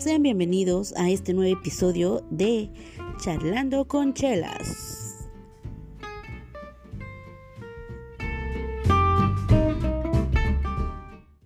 Sean bienvenidos a este nuevo episodio de Charlando con Chelas.